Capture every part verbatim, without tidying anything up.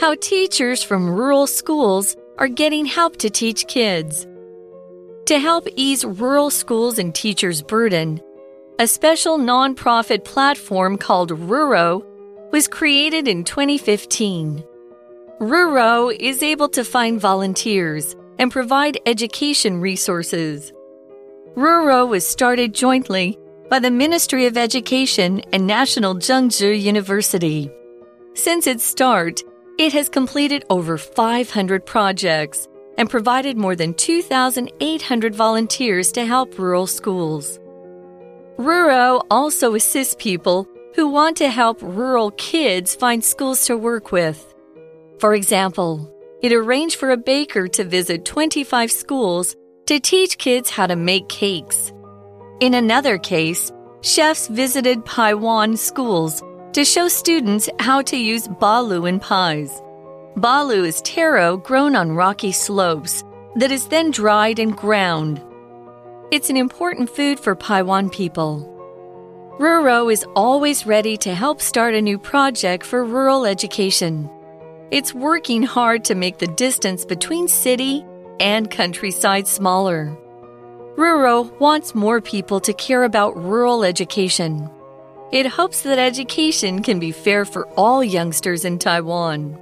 how teachers from rural schools are getting help to teach kids. To help ease rural schools and teachers' burden, a special nonprofit platform called Ruro was created in twenty fifteen. Ruro is able to find volunteers and provide education resources. Ruro was started jointly by the Ministry of Education and National Zhengzhi University. Since its start, it has completed over five hundred projects and provided more than two thousand eight hundred volunteers to help rural schools. Ruro also assists people who want to help rural kids find schools to work with. For example, it arranged for a baker to visit twenty-five schools to teach kids how to make cakes. In another case, chefs visited Paiwan schools to show students how to use balu in pies. Balu is taro grown on rocky slopes that is then dried and ground. It's an important food for Paiwan people. Ruro is always ready to help start a new project for rural education. It's working hard to make the distance between city and countryside smaller. Ruro wants more people to care about rural education. It hopes that education can be fair for all youngsters in Taiwan.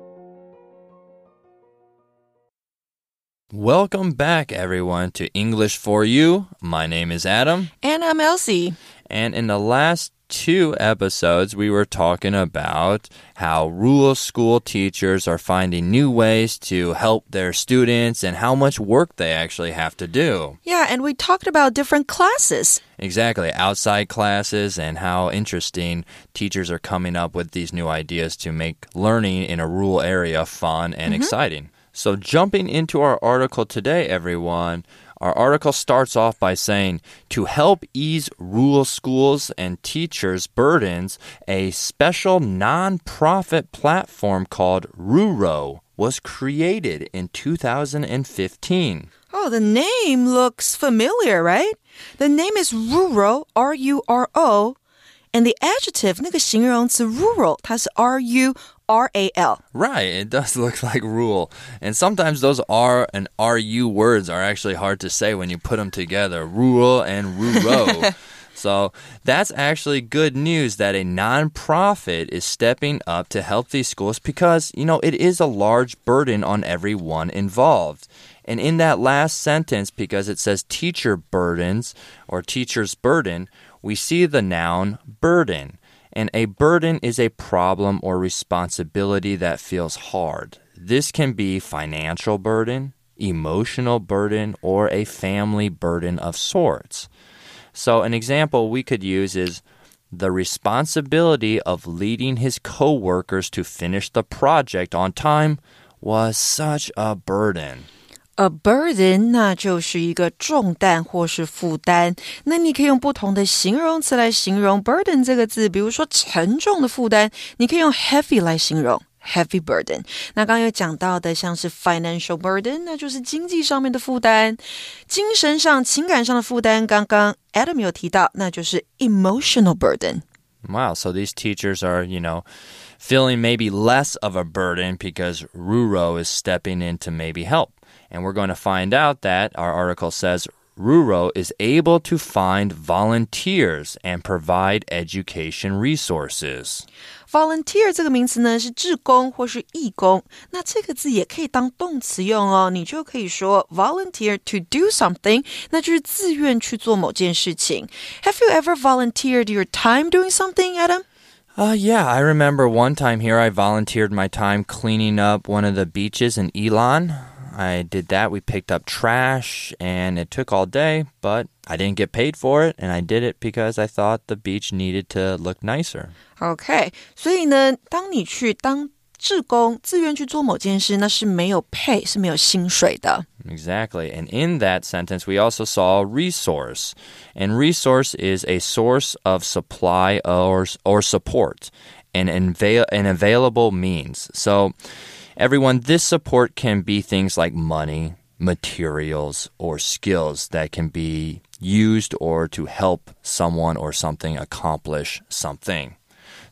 Welcome back, everyone, to English for You. My name is Adam. And I'm Elsie. And in the last two episodes, we were talking about how rural school teachers are finding new ways to help their students and how much work they actually have to do. Yeah, and we talked about different classes. Exactly, outside classes and how interesting teachers are coming up with these new ideas to make learning in a rural area fun and mm-hmm. exciting. So jumping into our article today, everyone, our article starts off by saying, to help ease rural schools and teachers' burdens, a special non-profit platform called Ruro was created in two thousand fifteen. Oh, the name looks familiar, right? The name is Ruro, R U R O, and the adjective, 那個形容詞 rural, 它是 R U R A L. Right, it does look like rural. And sometimes those R and R U words are actually hard to say when you put them together. Rural and Ruro. So that's actually good news that a nonprofit is stepping up to help these schools because, you know, it is a large burden on everyone involved. And in that last sentence, because it says teacher burdens or teacher's burden, we see the noun burden. And a burden is a problem or responsibility that feels hard. This can be financial burden, emotional burden, or a family burden of sorts. So an example we could use is the responsibility of leading his coworkers to finish the project on time was such a burden. A burden, 那就是一個重擔或是負擔。那你可以用不同的形容詞來形容 burden 這個字，比如說沉重的負擔，你可以用 heavy 來形容 heavy burden。那剛剛有講到的像是 financial burden， 那就是經濟上面的負擔。精神上、情感上的負擔，剛剛 Adam 有提到，那就是 emotional burden。 Wow, so these teachers are, you know, feeling maybe less of a burden because Ruro is stepping in to maybe help. And we're going to find out that, our article says, Ruro is able to find volunteers and provide education resources. Volunteer 這個名詞呢是志工或是義工，那這個字也可以當動詞用哦，你就可以說 volunteer to do something， 那就是自願去做某件事情。Have you ever volunteered your time doing something, Adam? Uh, yeah, I remember one time here I volunteered my time cleaning up one of the beaches in Ilan. I did that. We picked up trash, and it took all day, but I didn't get paid for it, and I did it because I thought the beach needed to look nicer. Okay, 所以呢，當你去當志工，自願去做某件事，那是沒有 pay， 是沒有薪水的。 Exactly. And in that sentence, we also saw resource. And resource is a source of supply or, or support, an, avail- an available means. So, everyone, this support can be things like money, materials, or skills that can be used or to help someone or something accomplish something.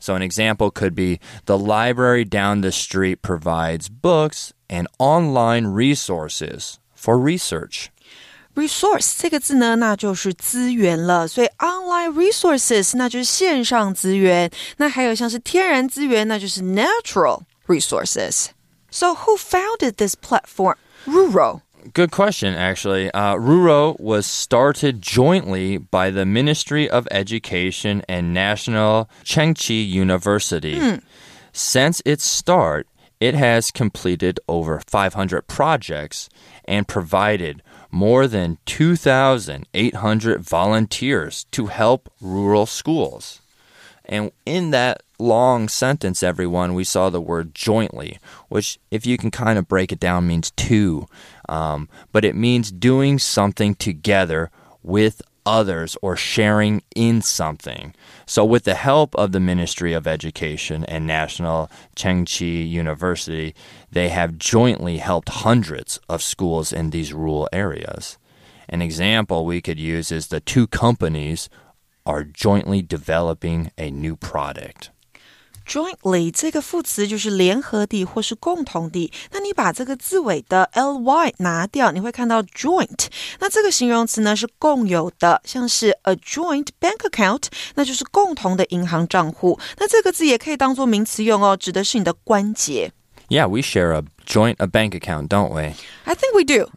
So an example could be the library down the street provides books and online resources for research. Resource 这個字呢，那就是資源了，所以 online resources 那就是線上資源，那還有像是天然資源，那就是 natural resources. So who founded this platform? Ruro. Good question, actually. Uh, Ruro was started jointly by the Ministry of Education and National Chengchi University. Hmm. Since its start, it has completed over five hundred projects and provided more than two thousand eight hundred volunteers to help rural schools. And in that long sentence, everyone, we saw the word jointly, which, if you can kind of break it down, means two. Um, but it means doing something together with others or sharing in something. So with the help of the Ministry of Education and National Chengchi University, they have jointly helped hundreds of schools in these rural areas. An example we could use is the two companies are jointly developing a new product. Jointly 这個副詞就是聯合地或是共同地，那你把這個字尾的 ly 拿掉，你會看到 joint。那這個形容詞呢是共有的，像是 a joint bank account， 那就是共同的銀行賬戶。那這個字也可以當作名詞用哦，指的是你的關節。 Yeah, we share a joint a bank account, don't we? I think we do.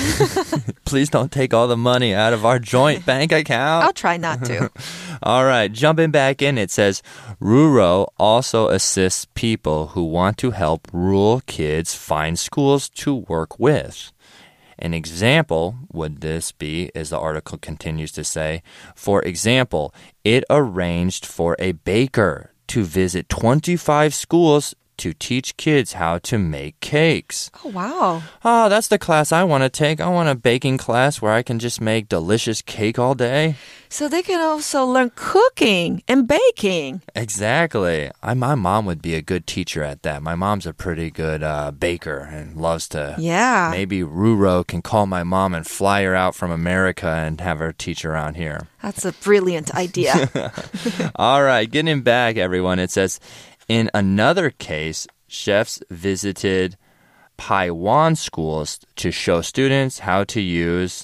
Please don't take all the money out of our joint bank account. I'll try not to. All right, jumping back in, it says, Ruro also assists people who want to help rural kids find schools to work with. An example would this be, as the article continues to say, for example, it arranged for a baker to visit twenty-five schools to teach kids how to make cakes. Oh, wow. Oh, that's the class I want to take. I want a baking class where I can just make delicious cake all day. So they can also learn cooking and baking. Exactly. I, my mom would be a good teacher at that. My mom's a pretty good uh, baker and loves to. Yeah. Maybe Ruro can call my mom and fly her out from America and have her teach around here. That's a brilliant idea. All right, getting back, everyone. It says, in another case, chefs visited Paiwan schools to show students how to use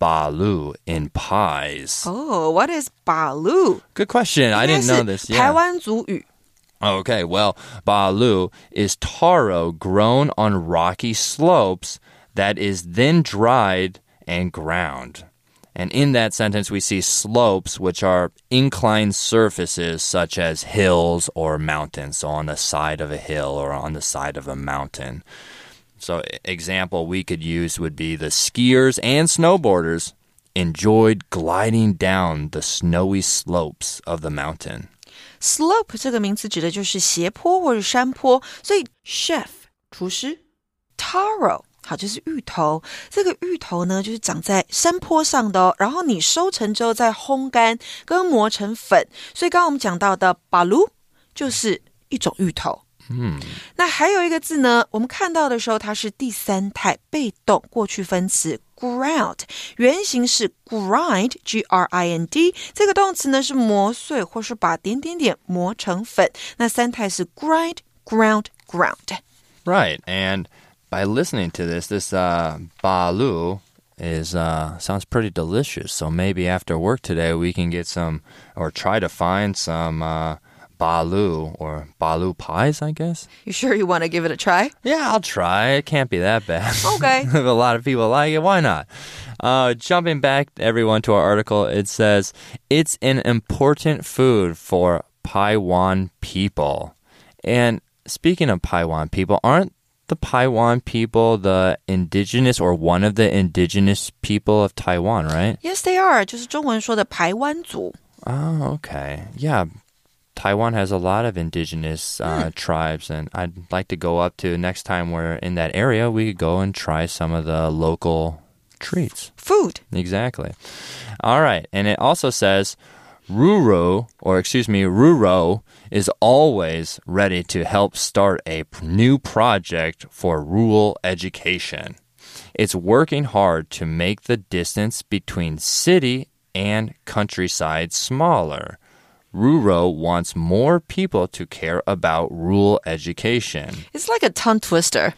balu in pies. Oh, what is balu? Good question. I didn't know this. Yeah. 台灣族語. Okay, well, balu is taro grown on rocky slopes that is then dried and ground. And in that sentence, we see slopes, which are inclined surfaces such as hills or mountains. So on the side of a hill or on the side of a mountain. So example we could use would be the skiers and snowboarders enjoyed gliding down the snowy slopes of the mountain. Slope 這個名詞指的就是斜坡或者山坡，所以 chef 廚師 taro 好，就是芋頭。這個芋頭呢，就是長在山坡上的哦。然後你收成之後再烘乾，跟磨成粉。所以剛剛我們講到的 balu 就是一種芋頭。 嗯， 那還有一個字呢，我們看到的時候，它是第三態被動過去分詞 ground， 原型是 grind G R I N D， 這個動詞呢是磨碎或是把點點點磨成粉。那三態是 grind, ground, ground. Right, and by listening to this, this uh, balu is uh, sounds pretty delicious. So maybe after work today, we can get some, or try to find some uh, balu or balu pies, I guess. You sure you want to give it a try? Yeah, I'll try. It can't be that bad. Okay. If a lot of people like it, why not? Uh, jumping back, everyone, to our article, it says, it's an important food for Paiwan people. And speaking of Paiwan people, aren't the Paiwan people the indigenous or one of the indigenous people of Taiwan, right? Yes, they are. 就是中文說的排灣族. Oh, okay. Yeah. Taiwan has a lot of indigenous uh, mm. tribes, and I'd like to go up to next time we're in that area, we could go and try some of the local treats. Food. Exactly. All right. And it also says, Ruro, or excuse me, Ruro is always ready to help start a new project for rural education. It's working hard to make the distance between city and countryside smaller. Ruro wants more people to care about rural education. It's like a tongue twister.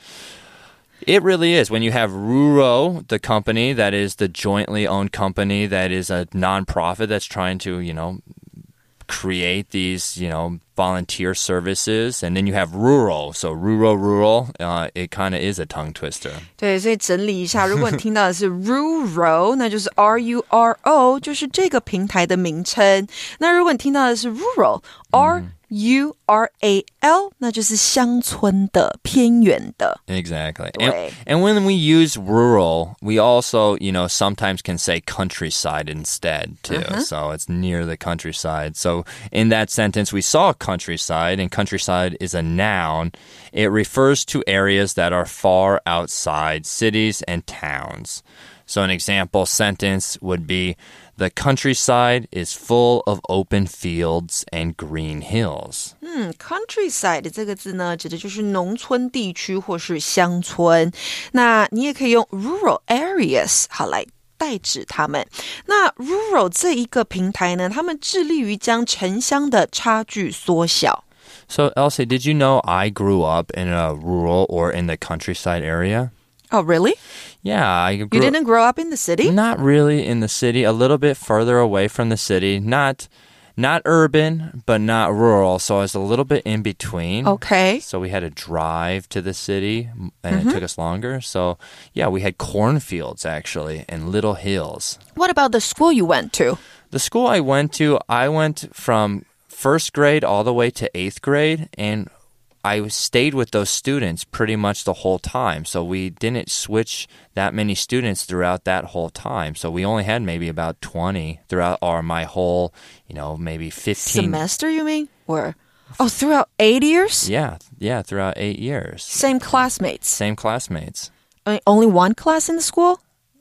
It really is. When you have Ruro, the company that is the jointly owned company that is a nonprofit that's trying to, you know, create these, you know, volunteer services, and then you have rural. So rural, rural, uh, it kind of is a tongue twister. 对，所以整理一下，如果你听到的是 rural， 那就是 R U R O， 就是这个平台的名称。那如果你听到的是 rural，R U R A L， 那就是乡村的、偏遠的。 Exactly. And, and when we use rural, we also, you know, sometimes can say countryside instead, too. Uh-huh. So it's near the countryside. So in that sentence, we saw countryside, and countryside is a noun. It refers to areas that are far outside cities and towns. So an example sentence would be, the countryside is full of open fields and green hills. 嗯 countryside 这个字呢，指的就是农村地区或是乡村。那你也可以用 rural areas 好来代指它们。那 rural 这一个平台呢，他们致力于将城乡的差距缩小。 So, Elsie, did you know I grew up in a rural or in the countryside area? Oh, really? Yeah, I grew You didn't grow up in the city? Not really in the city, a little bit further away from the city. Not not urban, but not rural, so I was a little bit in between. Okay. So we had to drive to the city, and Mm-hmm. it took us longer. So, yeah, we had cornfields, actually, and little hills. What about the school you went to? The school I went to, I went from first grade all the way to eighth grade, and I stayed with those students pretty much the whole time. So we didn't switch that many students throughout that whole time. So we only had maybe about twenty throughout our, my whole, you know, maybe fifteen. Semester, you mean? Or, oh, throughout eight years? Yeah, yeah, throughout eight years. Same classmates? Same classmates. I mean, only one class in the school?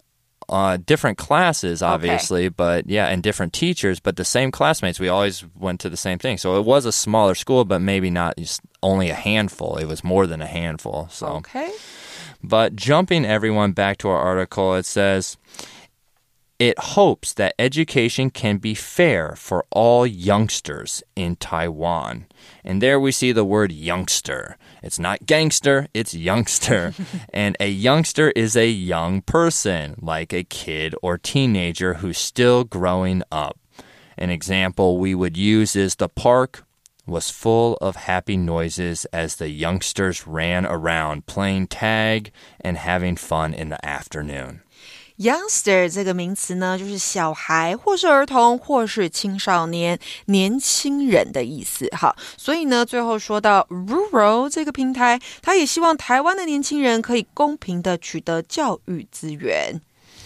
Uh, different classes, obviously, Okay. but yeah, and different teachers, but the same classmates. We always went to the same thing. So it was a smaller school, but maybe not just only a handful. It was more than a handful. So. Okay. But jumping everyone back to our article, it says, it hopes that education can be fair for all youngsters in Taiwan. And there we see the word youngster. It's not gangster, it's youngster. And a youngster is a young person, like a kid or teenager who's still growing up. An example we would use is the park was full of happy noises as the youngsters ran around playing tag and having fun in the afternoon. Youngster 这个名詞呢，就是小孩或是兒童或是青少年年輕人的意思。好，所以呢，最後說到 Rural 這個平台，他也希望台灣的年輕人可以公平的取得教育資源。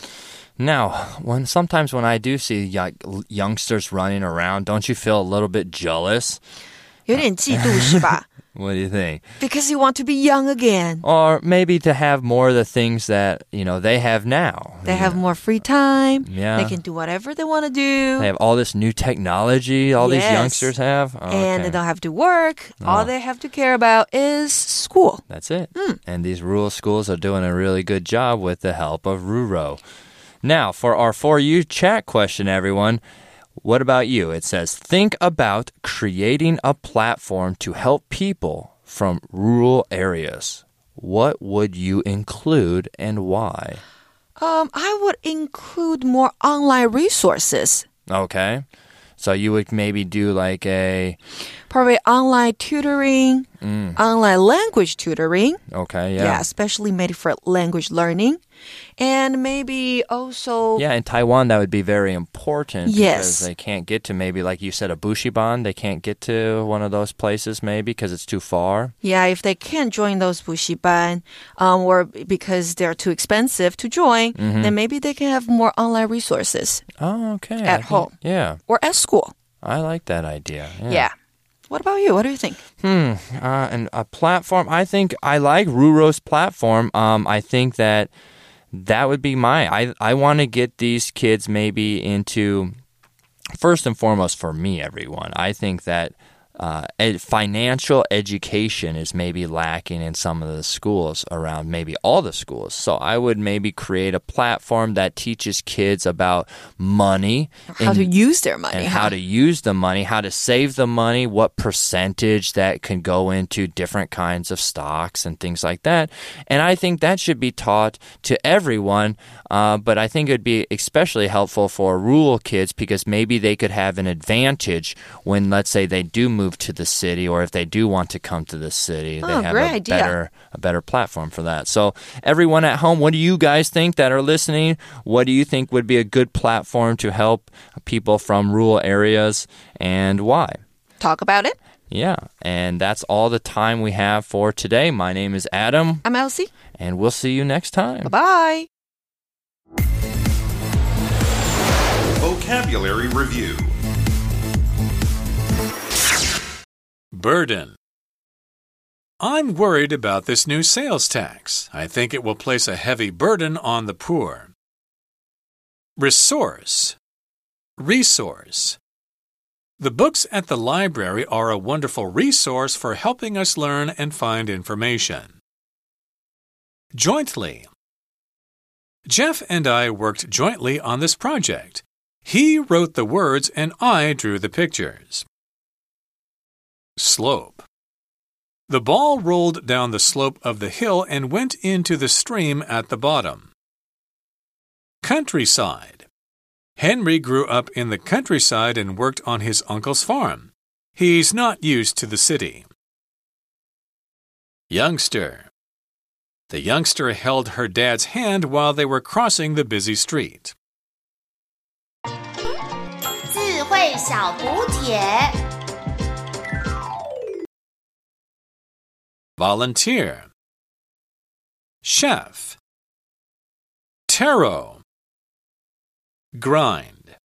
Now, when sometimes when I do see youngsters running around, don't you feel a little bit jealous? 有點嫉妒是吧？ What do you think? Because you want to be young again. Or maybe to have more of the things that, you know, they have now. They have more free time. Yeah. They can do whatever they want to do. They have all this new technology all Yes. these youngsters have. Oh, And okay. they don't have to work. Oh. All they have to care about is school. That's it. Mm. And these rural schools are doing a really good job with the help of Ruro. Now, for our For You chat question, everyone, what about you? It says, think about creating a platform to help people from rural areas. What would you include and why? Um, I would include more online resources. Okay. So you would maybe do like a... Probably online tutoring, Mm. online language tutoring. Okay, yeah. Yeah, especially made for language learning. And maybe also... Yeah, in Taiwan, that would be very important. Yes. Because they can't get to maybe, like you said, a bushiban. They can't get to one of those places maybe because it's too far. Yeah, if they can't join those bushiban um, or because they're too expensive to join, Mm-hmm. then maybe they can have more online resources Oh, okay. At I think- home. Yeah, or at school. I like that idea. Yeah. Yeah. What about you? What do you think? Hmm. Uh, and a platform. I think I like Ruro's platform. Um, I think that that would be my. I I want to get these kids maybe into. First and foremost, for me, everyone. I think that Uh, ed- financial education is maybe lacking in some of the schools around, maybe all the schools. So I would maybe create a platform that teaches kids about money. How and, to use their money. And huh? how to use the money, how to save the money, what percentage that can go into different kinds of stocks and things like that. And I think that should be taught to everyone, uh, but I think it would be especially helpful for rural kids because maybe they could have an advantage when, let's say, they do move to the city, or if they do want to come to the city, oh, they have great a idea. better a better platform for that. So everyone at home, what do you guys think that are listening? What do you think would be a good platform to help people from rural areas, and why? Talk about it. Yeah, and that's all the time we have for today. My name is Adam. I'm Elsie. And we'll see you next time. Bye-bye. Vocabulary Review. Burden. I'm worried about this new sales tax. I think it will place a heavy burden on the poor. Resource. Resource. The books at the library are a wonderful resource for helping us learn and find information. Jointly. Jeff and I worked jointly on this project. He wrote the words and I drew the pictures. Slope. The ball rolled down the slope of the hill and went into the stream at the bottom. Countryside. Henry grew up in the countryside and worked on his uncle's farm. He's not used to the city. Youngster. The youngster held her dad's hand while they were crossing the busy street. 智慧小补帖 Volunteer. Chef. Taro. Grind.